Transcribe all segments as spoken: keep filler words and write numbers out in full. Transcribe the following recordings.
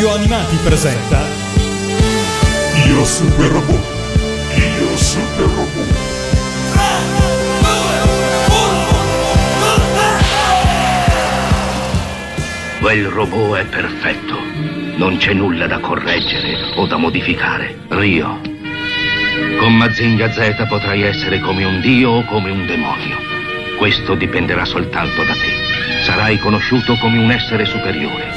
Radio Animati presenta Io Super Robot. Io Super Robot. Quel robot è perfetto. Non c'è nulla da correggere o da modificare. Rio, con Mazinga Z potrai essere come un dio o come un demonio. Questo dipenderà soltanto da te. Sarai conosciuto come un essere superiore.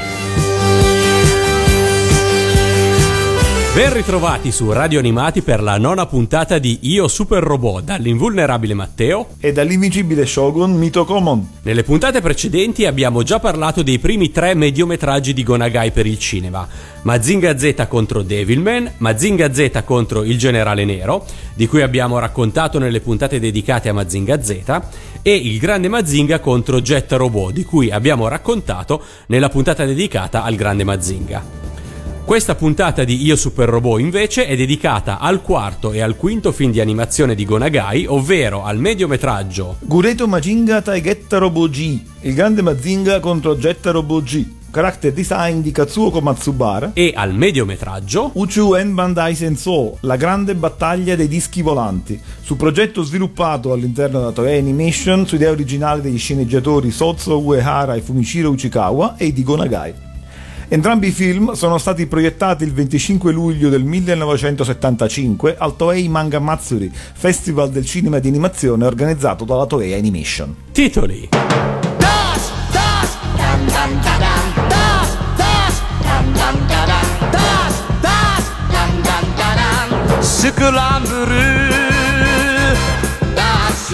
Ben ritrovati su Radio Animati per la nona puntata di Io Super Robot, dall'invulnerabile Matteo e dall'invincibile Shogun Mito Komon. Nelle puntate precedenti abbiamo già parlato dei primi tre mediometraggi di Go Nagai per il cinema: Mazinga Z contro Devilman, Mazinga Z contro il Generale Nero, di cui abbiamo raccontato nelle puntate dedicate a Mazinga Z, e il Grande Mazinga contro Jet Robot, di cui abbiamo raccontato nella puntata dedicata al Grande Mazinga. Questa puntata di Io Super Robot invece è dedicata al quarto e al quinto film di animazione di Go Nagai, ovvero al mediometraggio Gureto Mazinga Taigetta Robot G, il Grande Mazinga contro Jet Robot G, character design di Katsuo Matsubara, e al mediometraggio Uchu-en Bandai Sensou, la grande battaglia dei dischi volanti, su progetto sviluppato all'interno della Toei Animation su idea originale degli sceneggiatori Sozo Uehara e Fumishiro Uchikawa e di Go Nagai. Entrambi i film sono stati proiettati il venticinque luglio del millenovecentosettantacinque al Toei Manga Matsuri, festival del cinema di animazione organizzato dalla Toei Animation. Titoli: Dash, dash, dan dan da dan, dash, dash, dan dan da dan, dash, dash, dan dan da dan, Scramble Dash.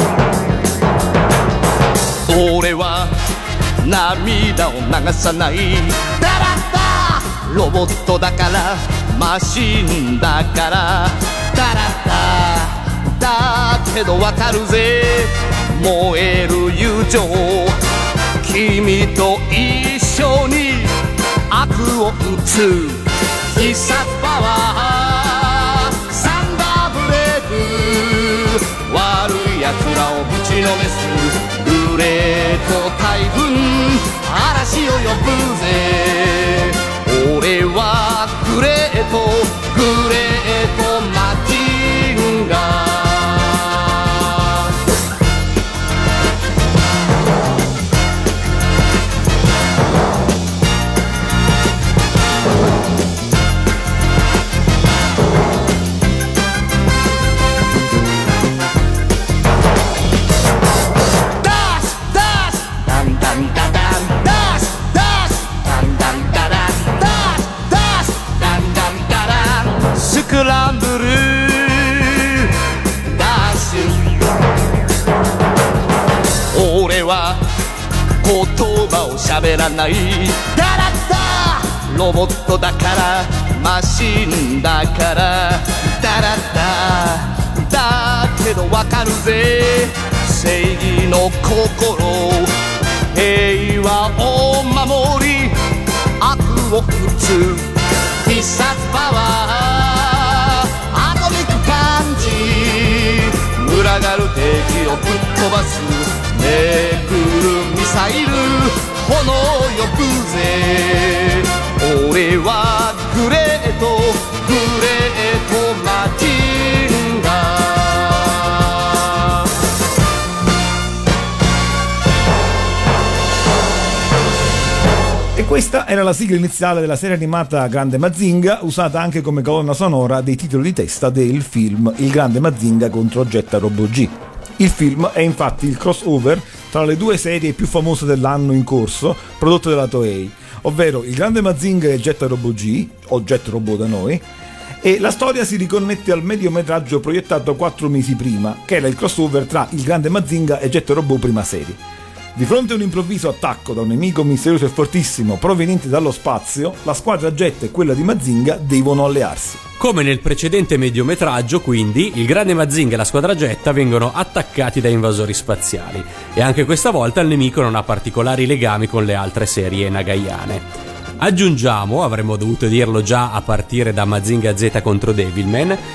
Ore wa 涙を流さないだらだロボットだからマシンだからだらだだけどわかるぜ燃える友情君と一緒に悪を打つ必殺パワーサンダーブレイク悪い奴らをぶちのめすグレート台風嵐を呼ぶぜ俺はグレートグレートマジンガスクランブルダッシュ俺は言葉を喋らないだらだロボットだからマシンだからだらだだけどわかるぜ正義の心平和を守り悪を打つ必殺パワー群がる敵をぶっ飛ばすめくるミサイル炎呼ぶぜ俺はグレートグレートマジンガ E questa era la sigla iniziale della serie animata Grande Mazinga, usata anche come colonna sonora dei titoli di testa del film Il Grande Mazinga contro Jet Robot G. Il film è infatti il crossover tra le due serie più famose dell'anno in corso prodotte dalla Toei, ovvero Il Grande Mazinga e Jet Robot G, o Jet Robot da noi, e la storia si riconnette al mediometraggio proiettato quattro mesi prima, che era il crossover tra Il Grande Mazinga e Jet Robot prima serie. Di fronte a un improvviso attacco da un nemico misterioso e fortissimo proveniente dallo spazio, la squadra Jet e quella di Mazinga devono allearsi. Come nel precedente mediometraggio, quindi, il Grande Mazinga e la squadra Jet vengono attaccati da invasori spaziali, e anche questa volta il nemico non ha particolari legami con le altre serie nagaiane. Aggiungiamo, avremmo dovuto dirlo già a partire da Mazinga Z contro Devilman,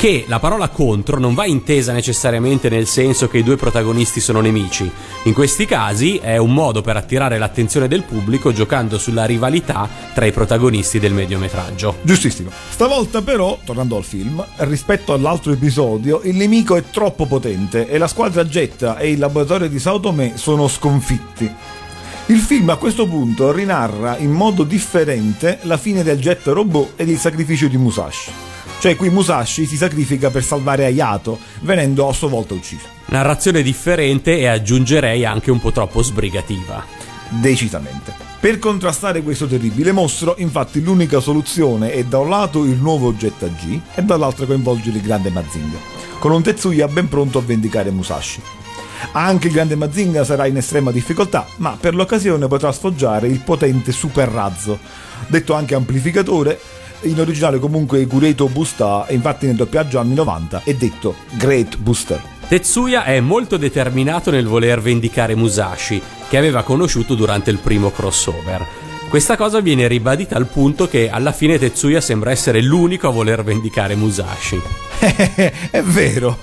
che la parola contro non va intesa necessariamente nel senso che i due protagonisti sono nemici. In questi casi è un modo per attirare l'attenzione del pubblico giocando sulla rivalità tra i protagonisti del mediometraggio. Giustissimo. Stavolta però, tornando al film, rispetto all'altro episodio, il nemico è troppo potente e la squadra Jetta e il laboratorio di Sao Tomé sono sconfitti. Il film a questo punto rinarra in modo differente la fine del jet robot ed il sacrificio di Musashi. Cioè qui Musashi si sacrifica per salvare Hayato, venendo a sua volta ucciso. Narrazione differente e aggiungerei anche un po' troppo sbrigativa. Decisamente. Per contrastare questo terribile mostro, infatti, l'unica soluzione è da un lato il nuovo Jetta G e dall'altro coinvolgere il grande Mazinga, con un Tetsuya ben pronto a vendicare Musashi. Anche il grande Mazinga sarà in estrema difficoltà, ma per l'occasione potrà sfoggiare il potente super razzo, detto anche amplificatore. In originale comunque Gureto Busta, e infatti nel doppiaggio anni novanta è detto Great Booster. Tetsuya è molto determinato nel voler vendicare Musashi, che aveva conosciuto durante il primo crossover. Questa cosa viene ribadita al punto che alla fine Tetsuya sembra essere l'unico a voler vendicare Musashi. È vero.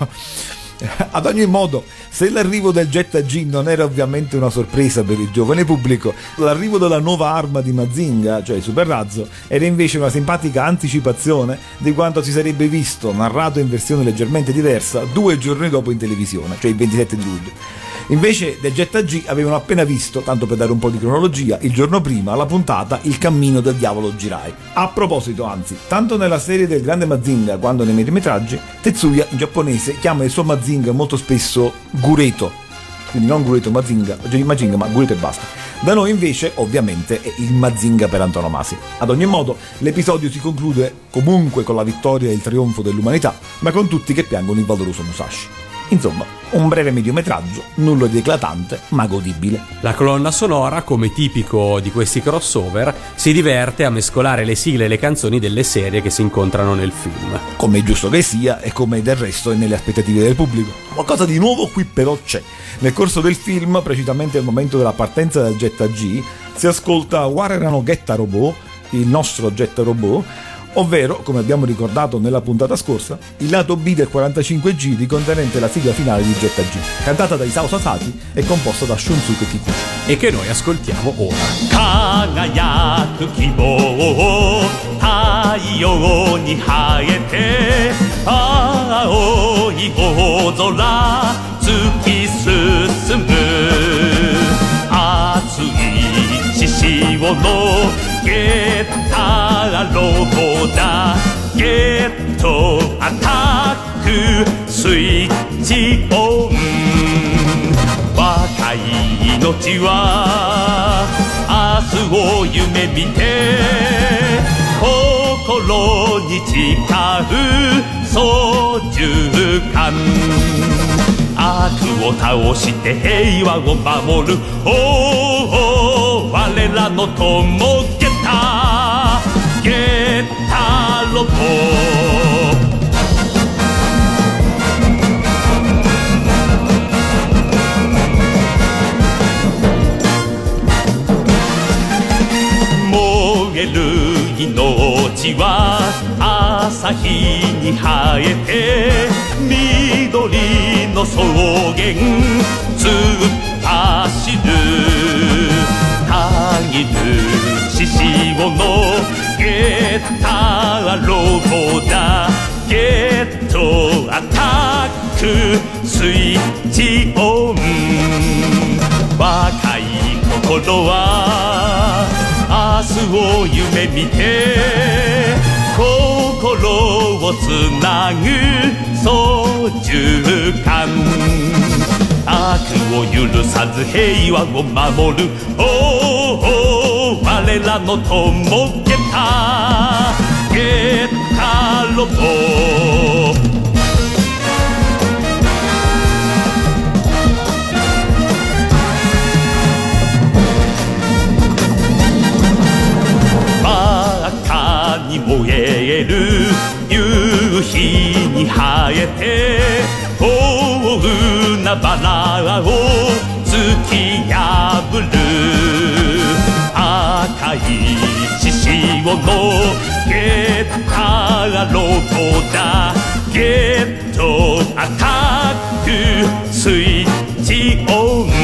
Ad ogni modo, se l'arrivo del Jetta G non era ovviamente una sorpresa per il giovane pubblico, l'arrivo della nuova arma di Mazinga, cioè il super razzo, era invece una simpatica anticipazione di quanto si sarebbe visto narrato in versione leggermente diversa due giorni dopo in televisione, cioè il ventisette di luglio. Invece del Jetta G avevano appena visto, tanto per dare un po' di cronologia, il giorno prima la puntata Il cammino del diavolo Jirai. A proposito, anzi, tanto nella serie del grande Mazinga quanto nei mediometraggi, Tetsuya in giapponese chiama il suo Mazinga molto spesso Gureto, quindi non Gureto Mazinga, Mazinga ma Gureto e basta. Da noi invece ovviamente è il Mazinga per antonomasia. Ad ogni modo l'episodio si conclude comunque con la vittoria e il trionfo dell'umanità, ma con tutti che piangono il valoroso Musashi. Insomma, un breve mediometraggio, nulla di eclatante, ma godibile. La colonna sonora, come tipico di questi crossover, si diverte a mescolare le sigle e le canzoni delle serie che si incontrano nel film. Come è giusto che sia e come del resto è nelle aspettative del pubblico. Qualcosa di nuovo qui però c'è. Nel corso del film, precisamente al momento della partenza del Jetta G, si ascolta Warerano Getta Robot, il nostro Jetta Robot, ovvero, come abbiamo ricordato nella puntata scorsa, il lato B del quarantacinque giri contenente la sigla finale di Jetta G, cantata da Isao Sasaki e composta da Shunsuke Kikuchi, e che noi ascoltiamo ora. Kagayaku kibou taiyo ni haete aoi ozora tsuki susumu atsui shishio no getta robo da getto attack switch on wakai inochi wa asu o yume mite kokoro ni chikau sojukan悪を倒して平和を守るおお我らの友ゲッターゲッターロボ燃える命は朝日に生えて緑の草原突っ走るたぎる獅子雄のゲッターロボだゲットアタックスイッチオン若い心は明日を夢見て心をつなぐ操縦感悪を許さず平和を守るおお我らの友ゲッターゲッターロボに燃える夕日に生えて大海原を突き破る赤い獅子雄のゲッターロボだゲ赤くスイッチオン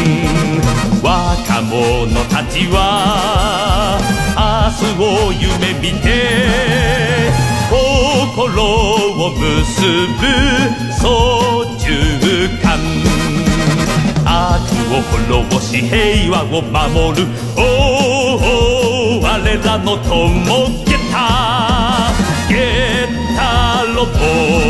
若者たちは明日を夢見て心を結ぶ操縦桿悪を滅ぼし平和を守るおお我らの友ゲタゲタロボ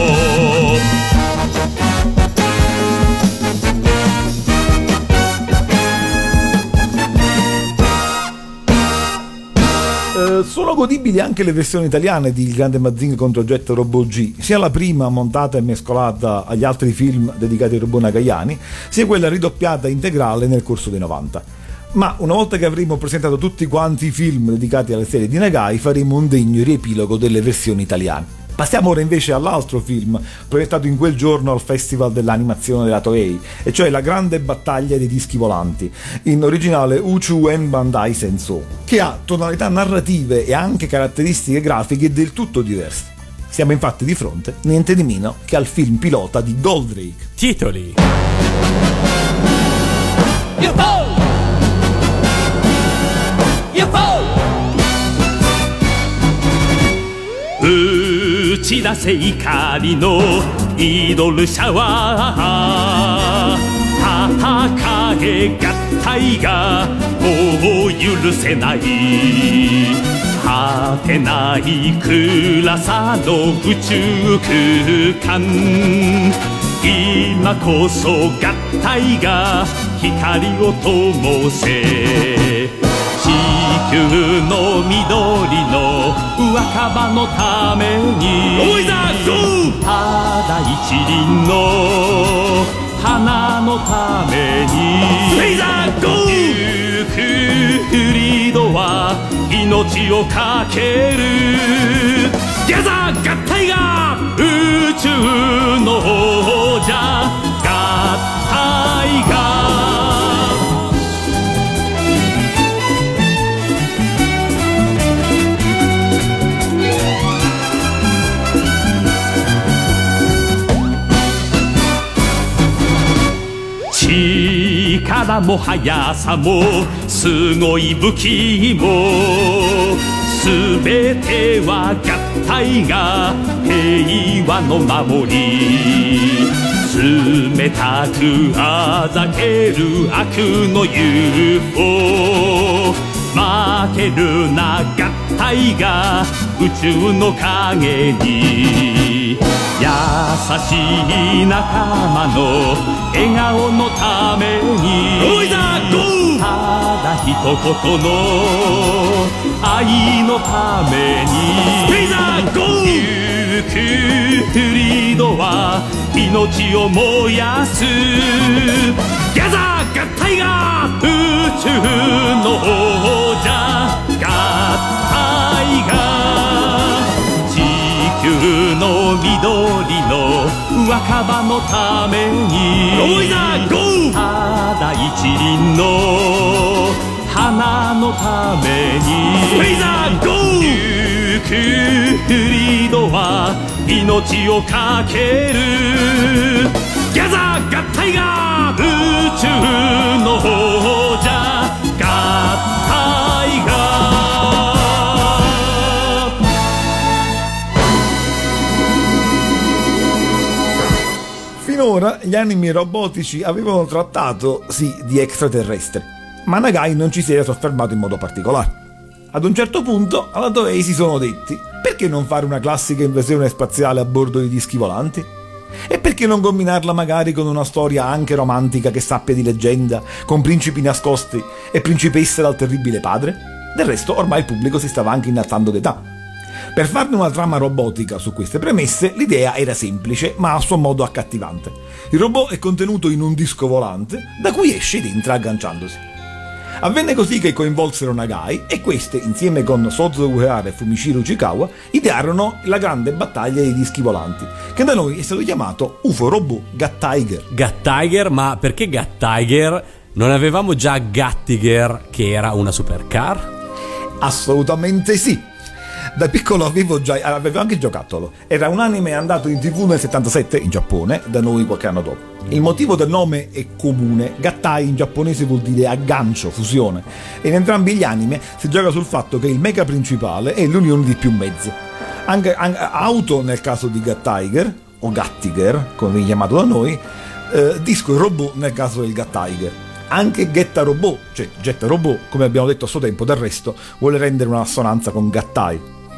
Sono godibili anche le versioni italiane di Il Grande Mazinga contro Jet Robot G, sia la prima montata e mescolata agli altri film dedicati ai robot nagayani, sia quella ridoppiata integrale nel corso dei novanta. Ma una volta che avremo presentato tutti quanti i film dedicati alle serie di Nagai, faremo un degno riepilogo delle versioni italiane. Passiamo ora invece all'altro film proiettato in quel giorno al Festival dell'animazione della Toei, e cioè La grande battaglia dei dischi volanti, in originale Uchu-en Bandai Senso, che ha tonalità narrative e anche caratteristiche grafiche del tutto diverse. Siamo infatti di fronte niente di meno che al film pilota di Goldrake. Titoli: U F O! U F O! 打ち出せ怒りのイドルシャワー戦え合体がもう許せない果てない暗さの宇宙空間今こそ合体が光を灯せ地球の緑の若葉のためにただ一輪の花のためにゆくフリードは命をかけるギャザー合体が宇宙の王者合体が力も速さもすごい武器もすべては合体が平和の守り冷たくあざける悪の ユーフォー 負けるな合体が宇宙の影に優しい仲間の笑顔のためにただ一言の愛のためにゆくフリードは命を燃やすギャザー合体が宇宙の王者合体が地球の緑の若葉のためにただ一輪の花のためにゆくフリードは命をかけるギャザー合体が宇宙の王者合体が Finora gli anime robotici avevano trattato, sì, di extraterrestri, ma Nagai non ci si era soffermato in modo particolare. Ad un certo punto alla Toei si sono detti: perché non fare una classica invasione spaziale a bordo di dischi volanti? E perché non combinarla magari con una storia anche romantica che sappia di leggenda, con principi nascosti e principesse dal terribile padre? Del resto ormai il pubblico si stava anche innalzando d'età. Per farne una trama robotica su queste premesse, l'idea era semplice, ma a suo modo accattivante. Il robot è contenuto in un disco volante, da cui esce ed entra agganciandosi. Avvenne così che coinvolsero Nagai, e queste, insieme con Sozo Uehara e Fumishiro Uchikawa, idearono la grande battaglia dei dischi volanti, che da noi è stato chiamato U F O Robot Gat-Tiger. Gat-Tiger, ma perché Gat-Tiger? Non avevamo già Gat-Tiger, che era una supercar? Assolutamente sì. Da piccolo avevo già avevo anche il giocattolo. Era un anime andato in tv nel settantasette in Giappone, da noi qualche anno dopo. Il motivo del nome è comune. Gattai in giapponese vuol dire aggancio, fusione. E in entrambi gli anime si gioca sul fatto che il mecha principale è l'unione di più mezzi. Anche, anche auto nel caso di Gat-Tiger, o Gattiger, come viene chiamato da noi, eh, disco e robot nel caso del Gat-Tiger. Anche Getta Robot, cioè Getta Robot, come abbiamo detto a suo tempo, del resto, vuole rendere una assonanza con Gattai.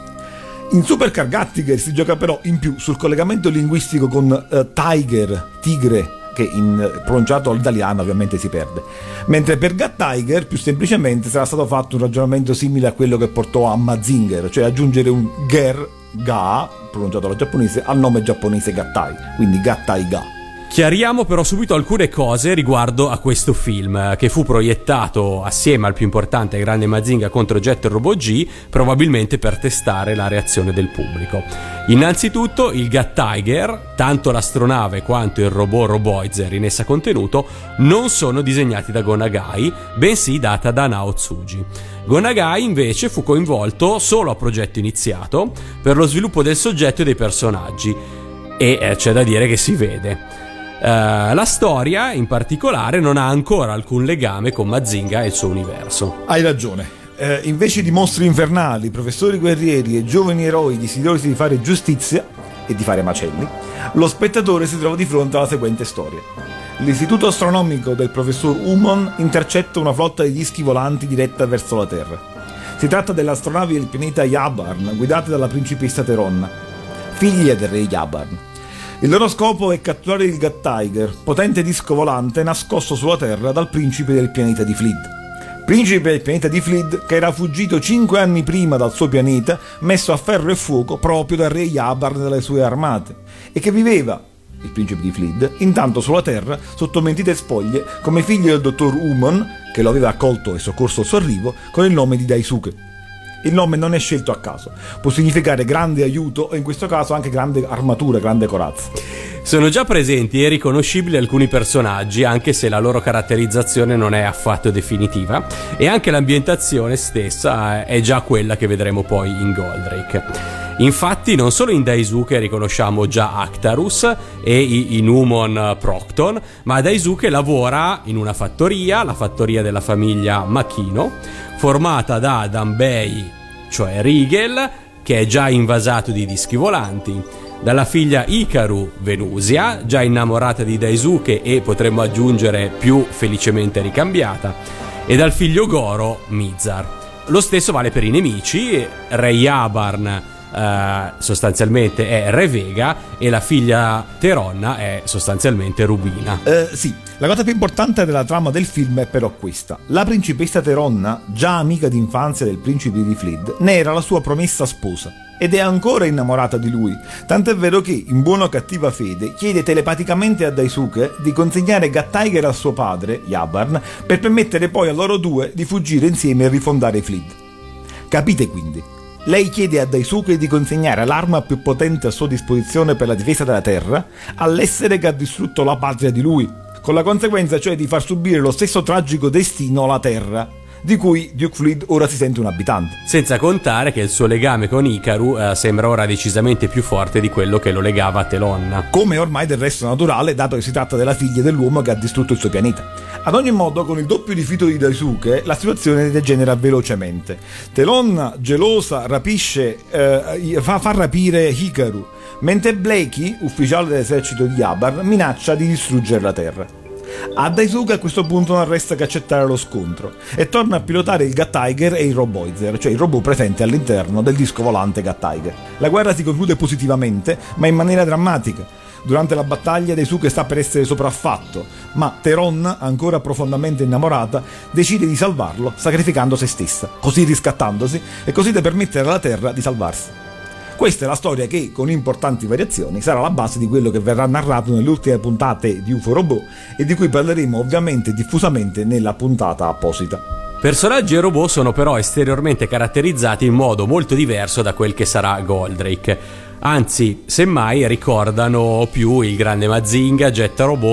In Supercar Gattiger si gioca però in più sul collegamento linguistico con uh, Tiger, tigre, che in pronunciato all'italiano ovviamente si perde. Mentre per Gat-Tiger più semplicemente sarà stato fatto un ragionamento simile a quello che portò a Mazinger, cioè aggiungere un ger, ga, pronunciato alla giapponese, al nome giapponese Gattai, quindi Gattai ga. Chiariamo però subito alcune cose riguardo a questo film, che fu proiettato assieme al più importante Grande Mazinga contro Jet Robot G, probabilmente per testare la reazione del pubblico. Innanzitutto il Gat-Tiger, tanto l'astronave quanto il robot Roboizer in essa contenuto, non sono disegnati da Go Nagai, bensì da Tadanao Tsuji. Go Nagai invece fu coinvolto solo a progetto iniziato per lo sviluppo del soggetto e dei personaggi, e eh, c'è da dire che si vede. Uh, la storia in particolare non ha ancora alcun legame con Mazinga e il suo universo. Hai ragione. Eh, invece di mostri infernali, professori guerrieri e giovani eroi desiderosi di fare giustizia e di fare macelli, lo spettatore si trova di fronte alla seguente storia. L'istituto astronomico del professor Umon intercetta una flotta di dischi volanti diretta verso la Terra. Si tratta delle astronavi del pianeta Yabarn, guidate dalla principessa Teronna, figlia del re Yabarn. Il loro scopo è catturare il Gat-Tiger, potente disco volante nascosto sulla Terra dal principe del pianeta di Flid. Principe del pianeta di Flid che era fuggito cinque anni prima dal suo pianeta, messo a ferro e fuoco proprio dal re Yabarn e dalle sue armate, e che viveva, il principe di Flid, intanto sulla Terra, sotto mentite spoglie, come figlio del dottor Umon, che lo aveva accolto e soccorso al suo arrivo, con il nome di Daisuke. Il nome non è scelto a caso, può significare grande aiuto e in questo caso anche grande armatura, grande corazza. Sono già presenti e riconoscibili alcuni personaggi, anche se la loro caratterizzazione non è affatto definitiva, e anche l'ambientazione stessa è già quella che vedremo poi in Goldrake. Infatti non solo in Daisuke riconosciamo già Actarus e Inumon Procton, ma Daisuke lavora in una fattoria, la fattoria della famiglia Makino, formata da Danbei, cioè Rigel, che è già invasato di dischi volanti, dalla figlia Hikaru, Venusia, già innamorata di Daisuke e potremmo aggiungere più felicemente ricambiata, e dal figlio Goro, Mizar. Lo stesso vale per i nemici. Re Yabarn Uh, sostanzialmente è Re Vega e la figlia Teronna è sostanzialmente Rubina. Eh, sì, la cosa più importante della trama del film è però questa. La principessa Teronna, già amica d'infanzia del principe di Flid, ne era la sua promessa sposa ed è ancora innamorata di lui, tant'è vero che, in buona o cattiva fede, chiede telepaticamente a Daisuke di consegnare Gat-Tiger a suo padre, Yabarn, per permettere poi a loro due di fuggire insieme e rifondare Flid. Capite quindi? Lei chiede a Daisuke di consegnare l'arma più potente a sua disposizione per la difesa della Terra all'essere che ha distrutto la patria di lui, con la conseguenza cioè di far subire lo stesso tragico destino alla Terra, di cui Duke Flid ora si sente un abitante. Senza contare che il suo legame con Hikaru eh, sembra ora decisamente più forte di quello che lo legava a Telonna. Come ormai del resto naturale, dato che si tratta della figlia dell'uomo che ha distrutto il suo pianeta. Ad ogni modo, con il doppio rifiuto di Daisuke, la situazione degenera velocemente. Telonna, gelosa, rapisce, eh, fa, fa rapire Hikaru, mentre Blakey, ufficiale dell'esercito di Yabarn, minaccia di distruggere la Terra. A Daisuke a questo punto non resta che accettare lo scontro e torna a pilotare il Gat-Tiger e il Roboizer, cioè il robot presente all'interno del disco volante Gat-Tiger. La guerra si conclude positivamente, ma in maniera drammatica. Durante la battaglia Daisuke sta per essere sopraffatto, ma Teronna, ancora profondamente innamorata, decide di salvarlo sacrificando se stessa, così riscattandosi e così da permettere alla Terra di salvarsi. Questa è la storia che, con importanti variazioni, sarà la base di quello che verrà narrato nelle ultime puntate di U F O Robot e di cui parleremo ovviamente diffusamente nella puntata apposita. Personaggi e robot sono però esteriormente caratterizzati in modo molto diverso da quel che sarà Goldrake. Anzi, semmai ricordano più il grande Mazinga, Jet Robot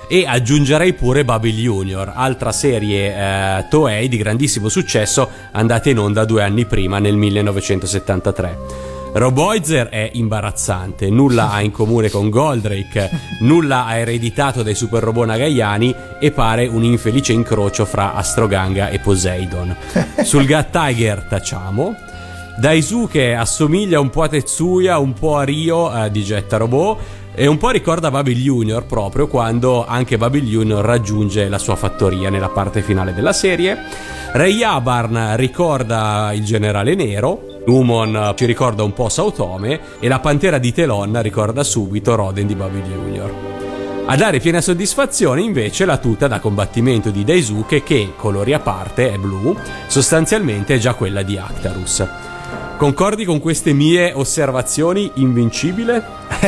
e aggiungerei pure Baby Junior, altra serie eh, Toei di grandissimo successo andata in onda due anni prima, nel millenovecentosettantatré. Roboizer è imbarazzante, nulla ha in comune con Goldrake, nulla ha ereditato dai super robot nagayani e pare un infelice incrocio fra Astroganga e Poseidon. Sul Gut Tiger tacciamo. Daisuke assomiglia un po' a Tetsuya, un po' a Ryo eh, di Getta Robot e un po' ricorda Baby Junior, proprio quando anche Baby Junior raggiunge la sua fattoria nella parte finale della serie. Rei Abarn ricorda il generale nero, Lumon ci ricorda un po' Saotome e la pantera di Telon ricorda subito Roden di Baby Junior. A dare piena soddisfazione invece la tuta da combattimento di Daisuke, che, colori a parte, è blu, sostanzialmente è già quella di Actarus. Concordi con queste mie osservazioni, Invincibile?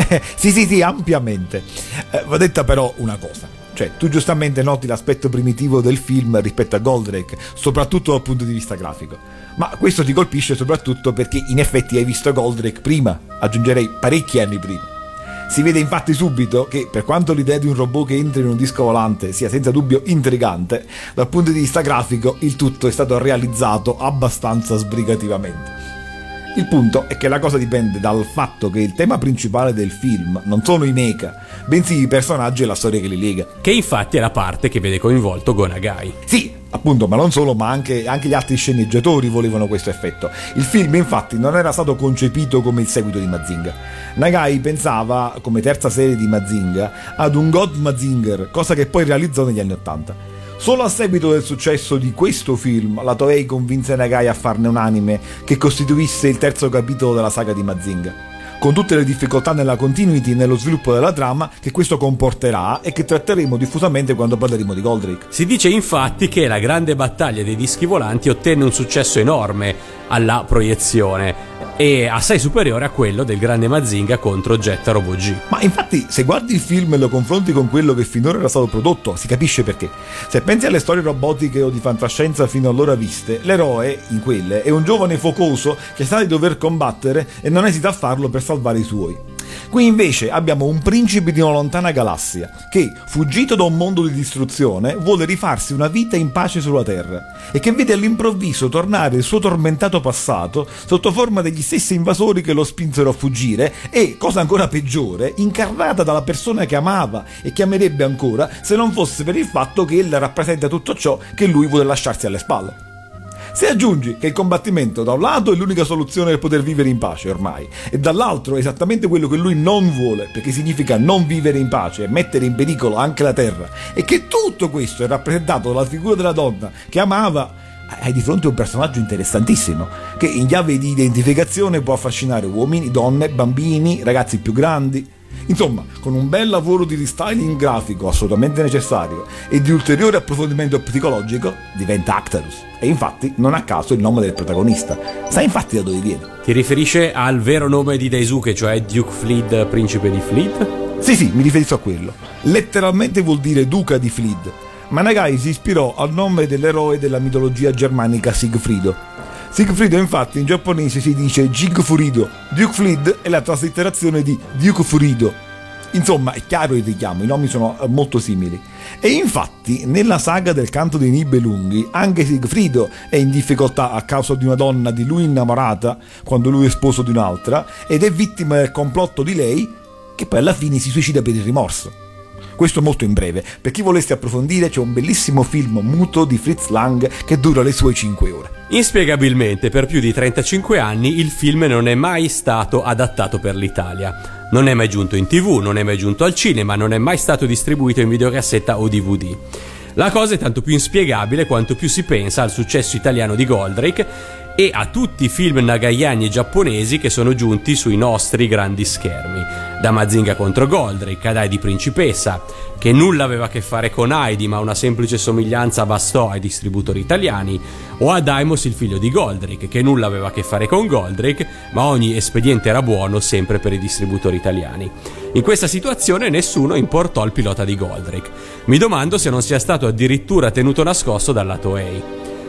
sì sì sì, ampiamente. Eh, va detta però una cosa. Cioè, tu giustamente noti l'aspetto primitivo del film rispetto a Goldrake, soprattutto dal punto di vista grafico. Ma questo ti colpisce soprattutto perché in effetti hai visto Goldrake prima, aggiungerei parecchi anni prima. Si vede infatti subito che, per quanto l'idea di un robot che entra in un disco volante sia senza dubbio intrigante, dal punto di vista grafico il tutto è stato realizzato abbastanza sbrigativamente. Il punto è che la cosa dipende dal fatto che il tema principale del film non sono i mecha, bensì i personaggi e la storia che li lega. Che infatti è la parte che vede coinvolto Go Nagai. Sì, appunto, ma non solo, ma anche, anche gli altri sceneggiatori volevano questo effetto. Il film infatti non era stato concepito come il seguito di Mazinga. Nagai pensava, come terza serie di Mazinga, ad un God Mazinger, cosa che poi realizzò negli anni ottanta. Solo a seguito del successo di questo film, la Toei convinse Nagai a farne un anime che costituisse il terzo capitolo della saga di Mazinga, con tutte le difficoltà nella continuity e nello sviluppo della trama che questo comporterà e che tratteremo diffusamente quando parleremo di Goldrake. Si dice infatti che la grande battaglia dei dischi volanti ottenne un successo enorme alla proiezione e assai superiore a quello del grande Mazinga contro Getta Robot G. Ma infatti, se guardi il film e lo confronti con quello che finora era stato prodotto, si capisce perché. Se pensi alle storie robotiche o di fantascienza fino allora viste, l'eroe, in quelle, è un giovane focoso che sa di dover combattere e non esita a farlo per salvare i suoi. Qui invece abbiamo un principe di una lontana galassia che, fuggito da un mondo di distruzione, vuole rifarsi una vita in pace sulla Terra e che vede all'improvviso tornare il suo tormentato passato sotto forma degli stessi invasori che lo spinsero a fuggire e, cosa ancora peggiore, incarnata dalla persona che amava e che amerebbe ancora se non fosse per il fatto che ella rappresenta tutto ciò che lui vuole lasciarsi alle spalle. Se aggiungi che il combattimento da un lato è l'unica soluzione per poter vivere in pace ormai e dall'altro è esattamente quello che lui non vuole, perché significa non vivere in pace e mettere in pericolo anche la terra, e che tutto questo è rappresentato dalla figura della donna che amava, hai di fronte un personaggio interessantissimo che in chiave di identificazione può affascinare uomini, donne, bambini, ragazzi più grandi. Insomma, con un bel lavoro di restyling grafico assolutamente necessario e di ulteriore approfondimento psicologico, diventa Actarus. E infatti, non a caso il nome del protagonista. Sai infatti da dove viene? Ti riferisce al vero nome di Daisuke, cioè Duke Fleet, principe di Fleet? Sì, sì, mi riferisco a quello. Letteralmente vuol dire duca di Fleet. Ma Nagai si ispirò al nome dell'eroe della mitologia germanica Sigfrido. Sigfrido infatti in giapponese si dice Jigfurido. Duke Fleet è la traslitterazione di Duke Furido. Insomma, è chiaro il richiamo, i nomi sono molto simili. E infatti, nella saga del canto dei Nibelunghi, anche Sigfrido è in difficoltà a causa di una donna di lui innamorata, quando lui è sposo di un'altra, ed è vittima del complotto di lei, che poi alla fine si suicida per il rimorso. Questo molto in breve. Per chi volesse approfondire, c'è un bellissimo film muto di Fritz Lang che dura le sue cinque ore. Inspiegabilmente, per più di trentacinque anni il film non è mai stato adattato per l'Italia. Non è mai giunto in tv, non è mai giunto al cinema, non è mai stato distribuito in videocassetta o D V D. La cosa è tanto più inspiegabile quanto più si pensa al successo italiano di Goldrake e a tutti i film nagayani e giapponesi che sono giunti sui nostri grandi schermi, da Mazinga contro Goldrake ad Heidi Principessa, che nulla aveva a che fare con Heidi ma una semplice somiglianza bastò ai distributori italiani, o a Daimos il figlio di Goldrake, che nulla aveva a che fare con Goldrake ma ogni espediente era buono sempre per i distributori italiani. In questa situazione nessuno importò il pilota di Goldrake. Mi domando se non sia stato addirittura tenuto nascosto dalla Toei.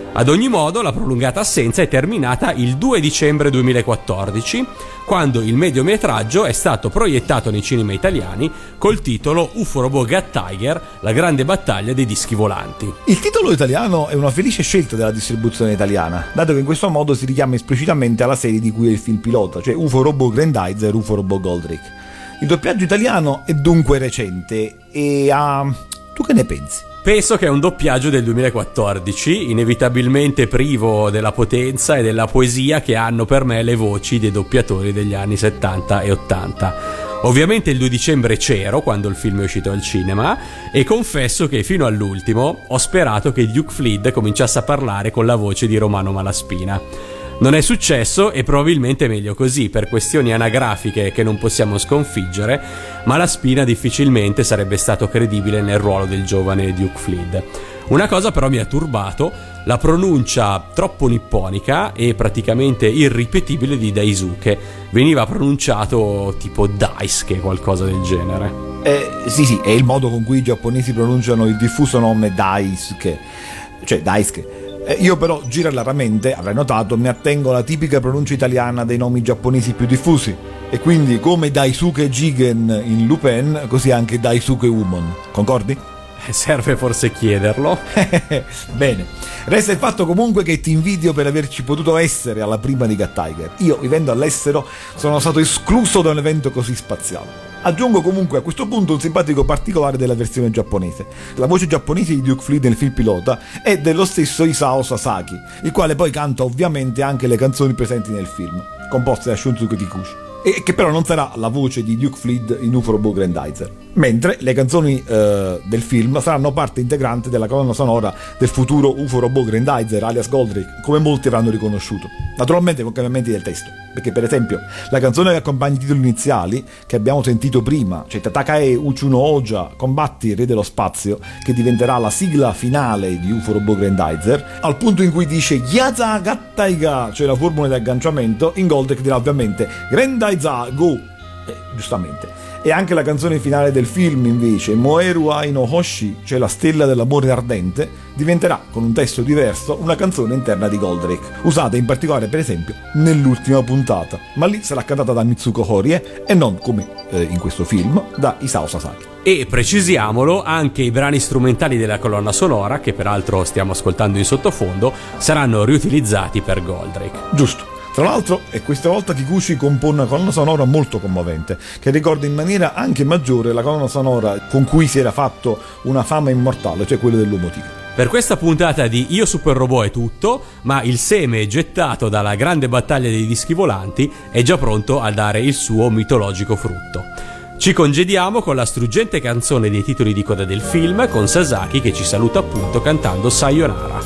Ad ogni modo, la prolungata assenza è terminata il due dicembre duemilaquattordici, quando il mediometraggio è stato proiettato nei cinema italiani col titolo Uforobo Got Tiger, la grande battaglia dei dischi volanti. Il titolo italiano è una felice scelta della distribuzione italiana, dato che in questo modo si richiama esplicitamente alla serie di cui è il film pilota, cioè Uforobo Grandizer e Uforobo Goldrake. Il doppiaggio italiano è dunque recente e ha... Uh, tu che ne pensi? Penso che è un doppiaggio del duemilaquattordici, inevitabilmente privo della potenza e della poesia che hanno per me le voci dei doppiatori degli anni settanta e ottanta. Ovviamente il due dicembre c'ero quando il film è uscito al cinema e confesso che fino all'ultimo ho sperato che Duke Flint cominciasse a parlare con la voce di Romano Malaspina. Non è successo e probabilmente è meglio così, per questioni anagrafiche che non possiamo sconfiggere, ma la Spina difficilmente sarebbe stato credibile nel ruolo del giovane Duke Flint. Una cosa però mi ha turbato, la pronuncia troppo nipponica e praticamente irripetibile di Daisuke. Veniva pronunciato tipo Daisuke, qualcosa del genere. Eh, sì sì, è il modo con cui i giapponesi pronunciano il diffuso nome Daisuke, cioè Daisuke. Io però, girarlaramente, avrai notato, mi attengo alla tipica pronuncia italiana dei nomi giapponesi più diffusi. E quindi, come Daisuke Jigen in Lupin, così anche Daisuke Umon. Concordi? Serve forse chiederlo. Bene. Resta il fatto comunque che ti invidio per averci potuto essere alla prima di Got Tiger. Io, vivendo all'estero, sono stato escluso da un evento così spaziale. Aggiungo comunque a questo punto un simpatico particolare della versione giapponese. La voce giapponese di Duke Flint nel film pilota è dello stesso Isao Sasaki, il quale poi canta ovviamente anche le canzoni presenti nel film, composte da Shunsuke Kikuchi, e che però non sarà la voce di Duke Flint in Uforobo Grandizer. Mentre le canzoni eh, del film saranno parte integrante della colonna sonora del futuro Uforobo Grandizer, alias Goldrake, come molti avranno riconosciuto. Naturalmente con cambiamenti del testo, perché per esempio la canzone che accompagna i titoli iniziali, che abbiamo sentito prima, cioè Tatakae Uchu no Oja, combatti il re dello spazio, che diventerà la sigla finale di Uforobo Grandizer, al punto in cui dice Yaza Gattaiga, cioè la formula di agganciamento, in Goldrake dirà ovviamente Grandizer Go, eh, giustamente. E anche la canzone finale del film, invece, Moeru Ai no Hoshi, cioè la stella dell'amore ardente, diventerà, con un testo diverso, una canzone interna di Goldrake, usata in particolare, per esempio, nell'ultima puntata, ma lì sarà cantata da Mitsuko Horie e non, come eh, in questo film, da Isao Sasaki. E precisiamolo, anche i brani strumentali della colonna sonora, che peraltro stiamo ascoltando in sottofondo, saranno riutilizzati per Goldrake. Giusto. Tra l'altro, e questa volta Kikuchi compone una colonna sonora molto commovente, che ricorda in maniera anche maggiore la colonna sonora con cui si era fatto una fama immortale, cioè quella dell'Uomo Tigre. Per questa puntata di Io Super Robot è tutto, ma il seme gettato dalla grande battaglia dei dischi volanti è già pronto a dare il suo mitologico frutto. Ci congediamo con la struggente canzone dei titoli di coda del film, con Sasaki che ci saluta appunto cantando Sayonara.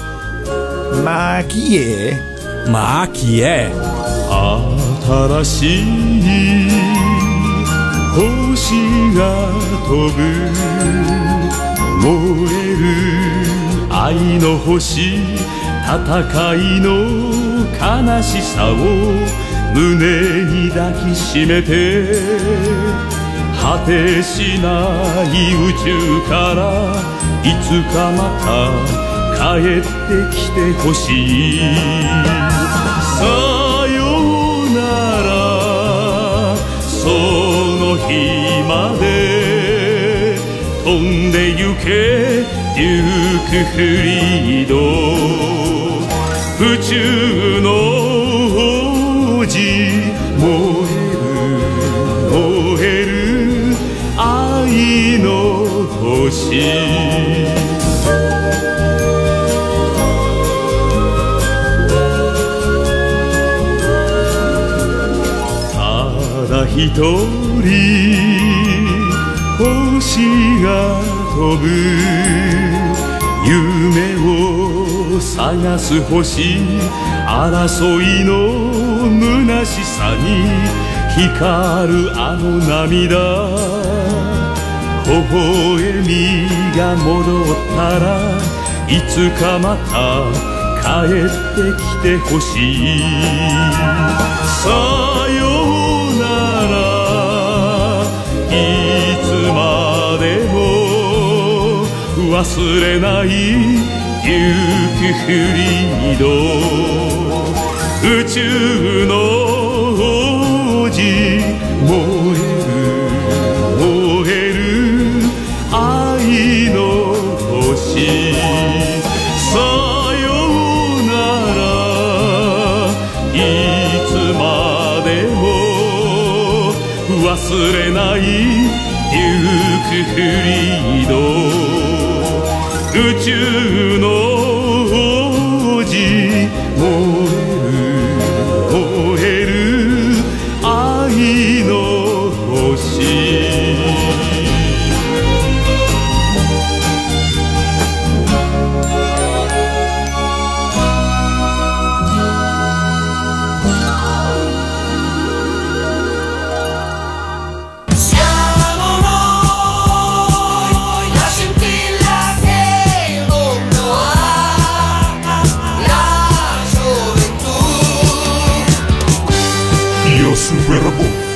Ma chi è? Ma chi è? 新しい星が飛ぶ燃える愛の星戦いの悲しさを胸に抱きしめて果てしない宇宙からいつかまた帰ってきてほしいさよならその日まで飛んでゆけデュークフリード宇宙の王子燃える燃える愛の星一人星が飛ぶ夢を探す星争いの虚しさに光るあの涙微笑みが戻ったらいつかまた帰ってきてほしいさよいつまでも忘れない行くフリード宇宙の王子燃える燃える愛の星さようならいつまでも忘れないデュークフリード宇宙の王子燃える燃える愛の星 Io super robot.